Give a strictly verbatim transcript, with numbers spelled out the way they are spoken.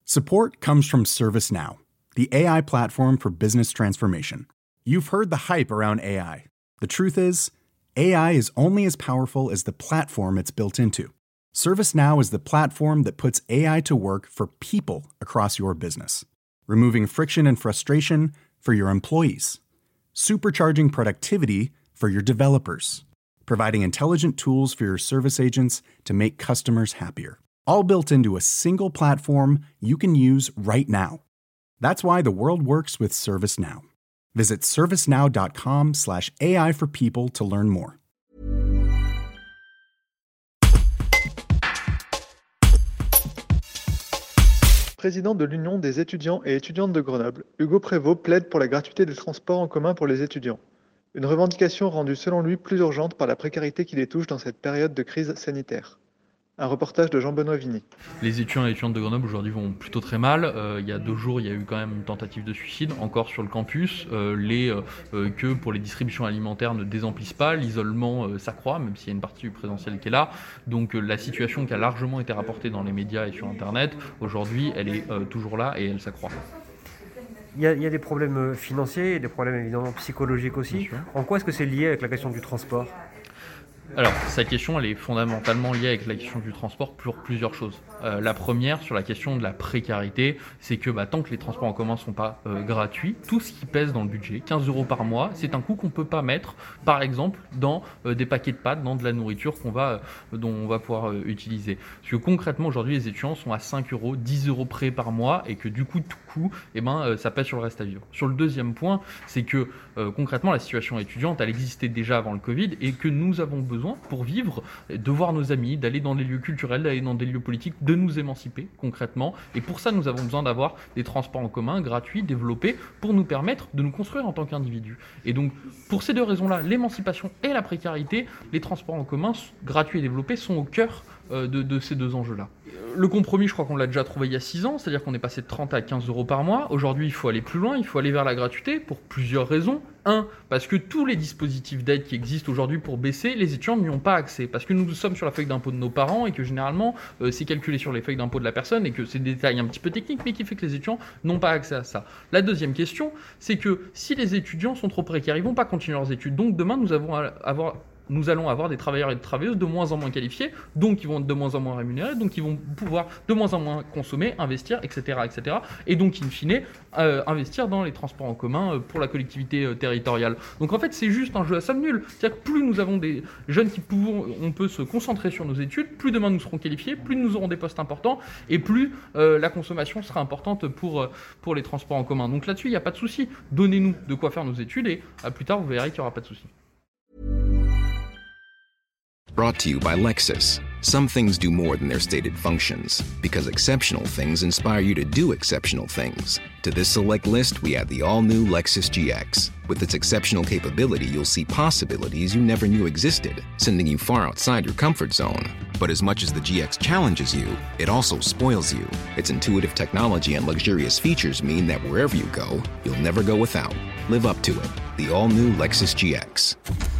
Support comes from ServiceNow, the A I platform for business transformation. You've heard the hype around A I. The truth is, A I is only as powerful as the platform it's built into. ServiceNow is the platform that puts A I to work for people across your business, removing friction and frustration for your employees, supercharging productivity for your developers, providing intelligent tools for your service agents to make customers happier. All built into a single platform you can use right now. That's why the world works with ServiceNow. Visit servicenow.com slash AI for people to learn more. Président de l'Union des étudiants et étudiantes de Grenoble, Hugo Prévost plaide pour la gratuité des transports en commun pour les étudiants. Une revendication rendue selon lui plus urgente par la précarité qui les touche dans cette période de crise sanitaire. Un reportage de Jean-Benoît Vigny. Les étudiants et étudiantes de Grenoble aujourd'hui vont plutôt très mal. Euh, il y a deux jours, il y a eu quand même une tentative de suicide, encore sur le campus. Euh, les euh, queues pour les distributions alimentaires ne désemplissent pas, l'isolement euh, s'accroît, même s'il y a une partie du présentiel qui est là. Donc euh, la situation qui a largement été rapportée dans les médias et sur Internet, aujourd'hui, elle est euh, toujours là et elle s'accroît. Il y, a, il y a des problèmes financiers et des problèmes évidemment psychologiques aussi. En quoi est-ce que c'est lié avec la question du transport ? Alors, sa question, elle est fondamentalement liée avec la question du transport pour plusieurs choses. Euh, la première, sur la question de la précarité, c'est que bah, tant que les transports en commun ne sont pas euh, gratuits, tout ce qui pèse dans le budget, quinze euros par mois, c'est un coût qu'on ne peut pas mettre, par exemple, dans euh, des paquets de pâtes, dans de la nourriture qu'on va, euh, dont on va pouvoir euh, utiliser. Parce que concrètement, aujourd'hui, les étudiants sont à cinq euros, dix euros près par mois, et que du coup, tout coup, eh ben, euh, ça pèse sur le reste à vivre. Sur le deuxième point, c'est que euh, concrètement, la situation étudiante, elle existait déjà avant le Covid, et que nous avons besoin pour vivre, de voir nos amis, d'aller dans des lieux culturels, d'aller dans des lieux politiques, de nous émanciper concrètement. Et pour ça, nous avons besoin d'avoir des transports en commun gratuits, développés, pour nous permettre de nous construire en tant qu'individus. Et donc, pour ces deux raisons-là, l'émancipation et la précarité, les transports en commun gratuits et développés sont au cœur de, de ces deux enjeux-là. Le compromis, je crois qu'on l'a déjà trouvé il y a six ans, c'est-à-dire qu'on est passé de trente à quinze euros par mois. Aujourd'hui, il faut aller plus loin, il faut aller vers la gratuité pour plusieurs raisons. Un, parce que tous les dispositifs d'aide qui existent aujourd'hui pour baisser, les étudiants n'y ont pas accès. Parce que nous sommes sur la feuille d'impôt de nos parents et que généralement, euh, c'est calculé sur les feuilles d'impôt de la personne et que c'est des détails un petit peu techniques, mais qui fait que les étudiants n'ont pas accès à ça. La deuxième question, c'est que si les étudiants sont trop précaires, ils ne vont pas continuer leurs études. Donc demain, nous avons à avoir... nous allons avoir des travailleurs et des travailleuses de moins en moins qualifiés, donc ils vont être de moins en moins rémunérés, donc ils vont pouvoir de moins en moins consommer, investir, et cetera, et cetera. Et donc, in fine, euh, investir dans les transports en commun euh, pour la collectivité euh, territoriale. Donc en fait, c'est juste un jeu à somme nulle. C'est-à-dire que plus nous avons des jeunes qui pouvons, on peut se concentrer sur nos études, plus demain nous serons qualifiés, plus nous aurons des postes importants, et plus euh, la consommation sera importante pour, euh, pour les transports en commun. Donc là-dessus, il n'y a pas de souci. Donnez-nous de quoi faire nos études, et à plus tard, vous verrez qu'il n'y aura pas de souci. Brought to you by Lexus. Some things do more than their stated functions, because exceptional things inspire you to do exceptional things. To this select list, we add the all-new Lexus G X. With its exceptional capability, you'll see possibilities you never knew existed, sending you far outside your comfort zone. But as much as the G X challenges you, it also spoils you. Its intuitive technology and luxurious features mean that wherever you go, you'll never go without. Live up to it. The all-new Lexus G X.